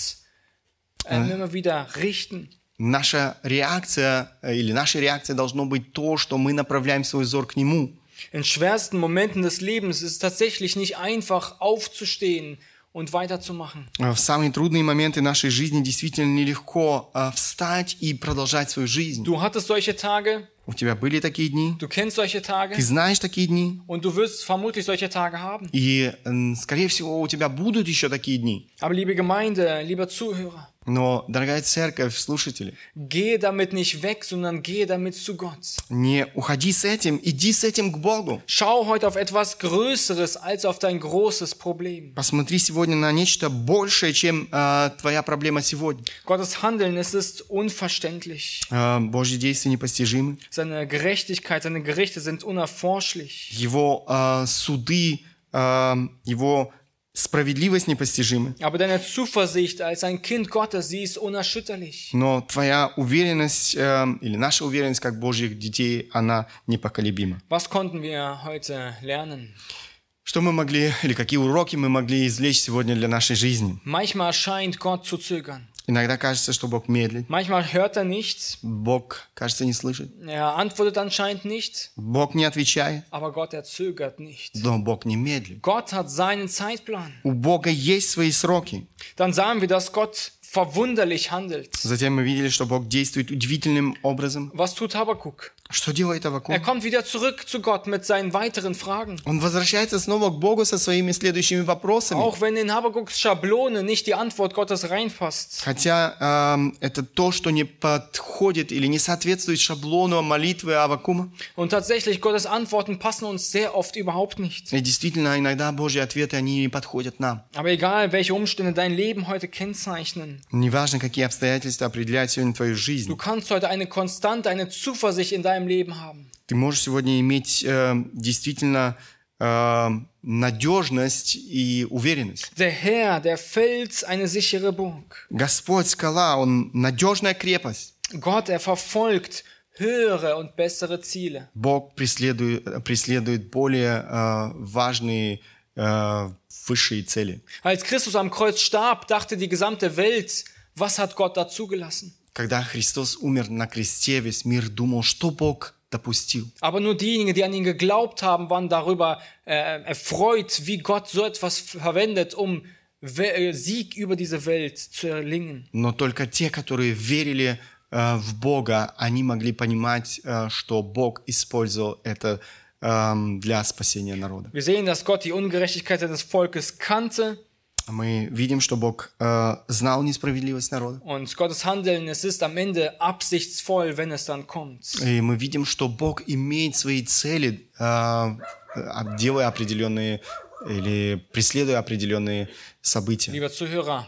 äh, immer wieder richten. Наша реакция э, или наша реакция должно быть то, что мы направляем свой взор к Нему. In schwersten Momenten des Lebens ist es tatsächlich nicht einfach aufzustehen und weiterzumachen. В самые трудные моменты нашей жизни действительно нелегко э, встать и продолжать свою жизнь. Du hattest solche Tage, У тебя были такие дни, du kennst solche Tage ты знаешь такие дни, und du wirst vermutlich solche Tage haben. и, э, скорее всего, у тебя будут еще такие дни. Aber liebe Gemeinde, lieber Zuhörer, Но, дорогая церковь, слушатели, gehe damit nicht weg, sondern gehe damit zu Gott. не уходи с этим, иди с этим к Богу. Schau heute auf etwas Größeres als auf dein großes Problem. Посмотри сегодня на нечто большее, чем э, твоя проблема сегодня. Gottes Handeln, es ist unverständlich. Э, Божьи действия непостижимы. Seine Gerechtigkeit, seine Gerichte sind unerforschlich. Его э, суды, э, его справедливость непостижимы. Aber deine Zuversicht als ein Kind Gottes, sie ist unerschütterlich. Но твоя уверенность, э, или наша уверенность как Божьих детей, она непоколебима. Was konnten wir heute lernen? Что мы могли, или какие уроки мы могли извлечь сегодня для нашей жизни? Manchmal scheint Gott zu zögern. Иногда кажется, что Бог медлит. Manchmal hört er nicht. Бог, кажется, не слышит. Er antwortet anscheinend nicht. Bог не отвечает. Aber Gott, er zögert nicht. Но Бог не медлит. Gott hat seinen Zeitplan. У Бога есть свои сроки. Dann sahen wir, dass Gott verwunderlich handelt. Затем мы видели, что Бог действует удивительным образом. Was tut Habakuk? Что делает Аввакум? Er kommt wieder zurück zu Gott mit seinen weiteren Fragen. Он возвращается снова к Богу со своими следующими вопросами. Auch wenn in Habakuks Schablone nicht die Antwort Gottes reinpasst. Хотя э, это то, что не подходит или не соответствует шаблону молитвы Аввакума. Und tatsächlich, Gottes Antworten passen uns sehr oft überhaupt nicht. И действительно, иногда Божьи ответы, они не подходят нам. Aber egal, welche Umstände dein Leben heute kennzeichnen, Неважно, какие обстоятельства определяют сегодня твою жизнь. du kannst heute eine Konstante, eine Zuversicht in deinem Leben haben. Ты можешь сегодня иметь э, действительно э, надежность и уверенность. Der Herr, der Fels, eine sichere Burg. Господь скала, Он надежная крепость. Gott, er verfolgt höhere und bessere Ziele. Бог преследует, преследует более э, важные, э, высшие цели. Als Christus am Kreuz starb, dachte die gesamte Welt, was hat Gott dazugelassen? Когда Христос умер на кресте, весь мир думал, что Бог допустил. Aber nur diejenigen, die an ihn geglaubt haben, waren darüber äh, erfreut, wie Gott so etwas verwendet, um We- Sieg über diese Welt zu erlingen. Но только те, которые верили э, в Бога, они могли понимать, э, что Бог использовал это э, для спасения народа. Wir sehen, dass Gott die Ungerechtigkeit seines Volkes kannte Мы видим, что Бог э, знал несправедливость народа. und Gottes Handeln, es ist am Ende absichtsvoll, wenn es dann kommt. И мы видим, что Бог имеет свои цели, э, делая определенные или преследуя определенные события. Lieber Zuhörer,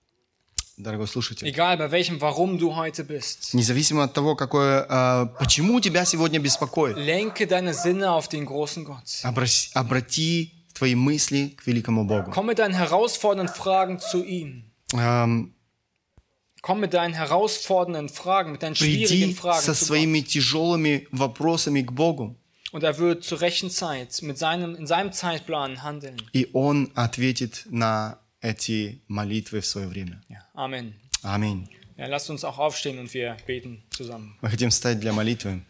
Дорогой слушатель, egal bei welchem Warum du heute bist, независимо от того, какое, э, почему тебя сегодня беспокоит, lenke deine Sinne auf den großen Gott. обрати, обрати твои мысли к великому Богу. Komm mit deinen herausfordernden Fragen zu ihm. Эм, Komm mit deinen herausfordernden Fragen, mit deinen schwierigen Приди Fragen со zu своими Gott. тяжелыми вопросами к Богу, Und er wird zur rechten Zeit mit seinem, in seinem Zeitplan handeln. и Он ответит на эти молитвы в свое время. Ja, Amen. Аминь. Ja, lasst uns auch aufstehen und wir beten zusammen. Мы хотим встать для молитвы.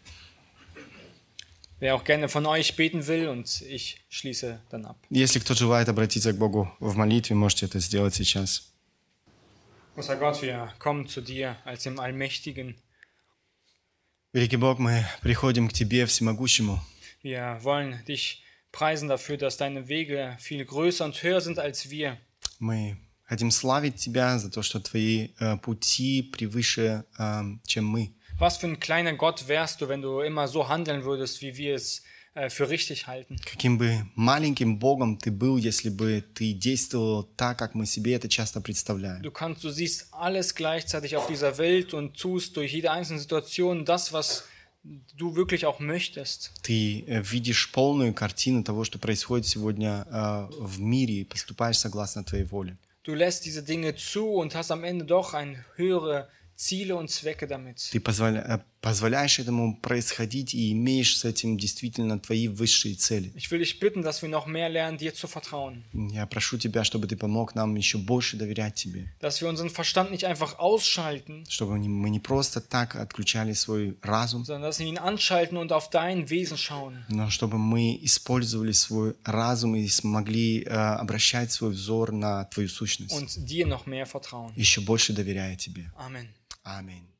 Wer auch gerne von euch beten will, und ich schließe dann ab. Если кто желает обратиться к Богу в молитве, можете это сделать сейчас. Großer Gott, wir kommen zu dir als dem Allmächtigen. Великий Бог, мы приходим к Тебе, Всемогущему. Wir wollen dich preisen dafür, dass deine Wege viel größer und höher sind als wir. Мы хотим славить Тебя за то, что Твои э, пути превыше, э, чем мы. Was für ein kleiner Gott wärst du, wenn du immer so handeln würdest, wie wir es äh, für richtig halten. Каким бы маленьким Богом ты был, если бы ты действовал так, как мы себе это часто представляем. Du kannst, du siehst alles gleichzeitig auf dieser Welt und tust durch jede einzelne Situation das, was du wirklich auch möchtest. Ты э, видишь полную картину того, что происходит сегодня э, в мире, и поступаешь согласно твоей воле. Du lässt diese Dinge zu und hast am Ende doch ein höhere Ziele und Zwecke damit. Ты позволя- э, позволяешь этому происходить и имеешь с этим действительно твои высшие цели. Ich will dich bitten, dass wir noch mehr lernen, dir zu vertrauen. Я прошу тебя, чтобы ты помог нам еще больше доверять тебе. Dass wir unseren Verstand nicht einfach ausschalten, Чтобы не- мы не просто так отключали свой разум, sondern dass wir ihn anschalten und auf dein Wesen schauen. но чтобы мы использовали свой разум и смогли э, обращать свой взор на твою сущность. Und dir noch mehr vertrauen. Еще больше доверяя тебе. Amen. Аминь.